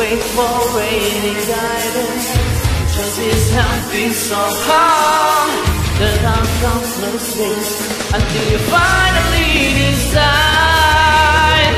wait for any guidance. Just his hand beats so hard that I'm countless days until you finally decide.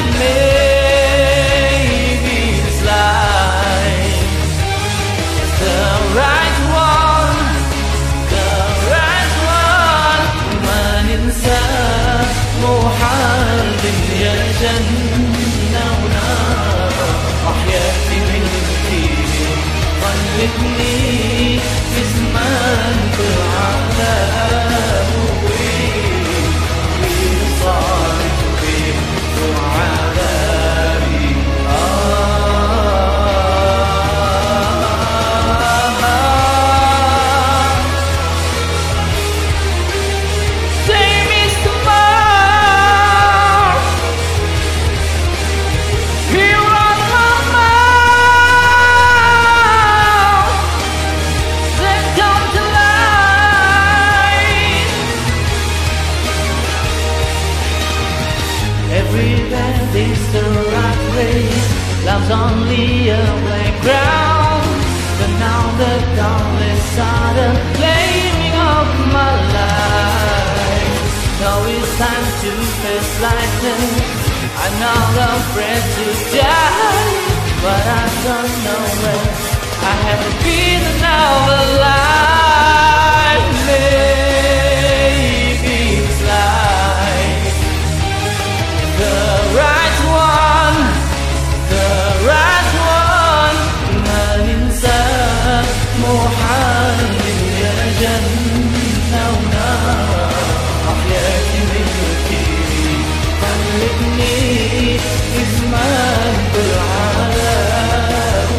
Maybe this life is the right one, the right one. Man insan محال يجنى ونار أحياتي منك خلتني في زمان بالعذاب وصارت في عذابي Every band is the right way. Love's only a playground. But now the dawn is sudden claiming of my life. Now it's time to face lightning. I'm not afraid to die, but I don't know when I haven't been another life. Maybe it's life. The right one, the right one. من إنسان محال يجنى ونار أحياتي منك خلتني في زمان بالعذاب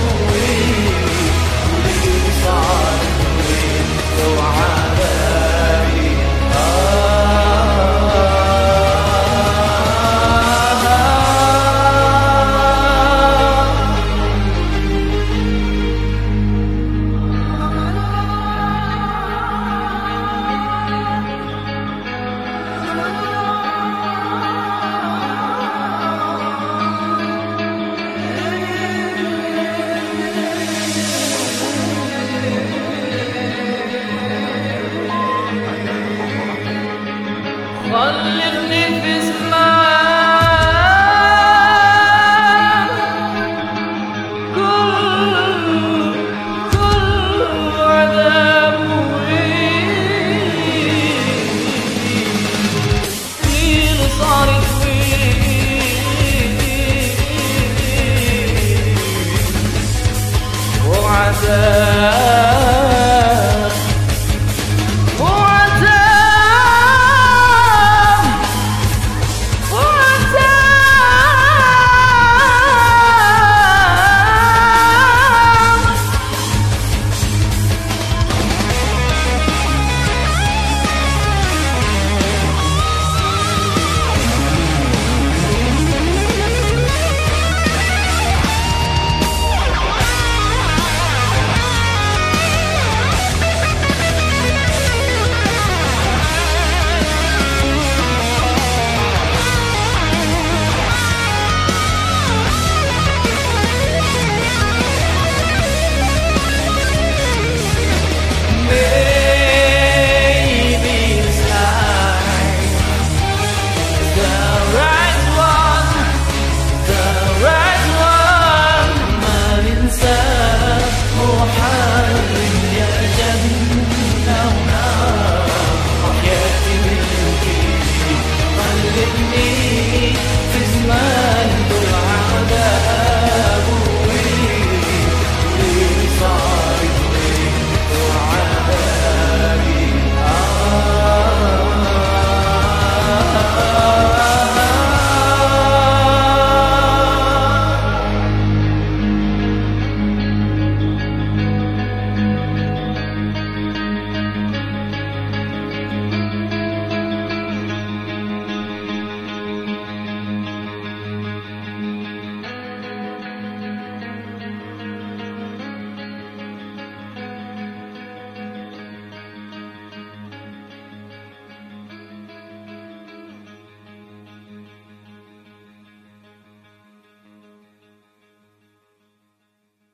واللي صار وعذابي Allah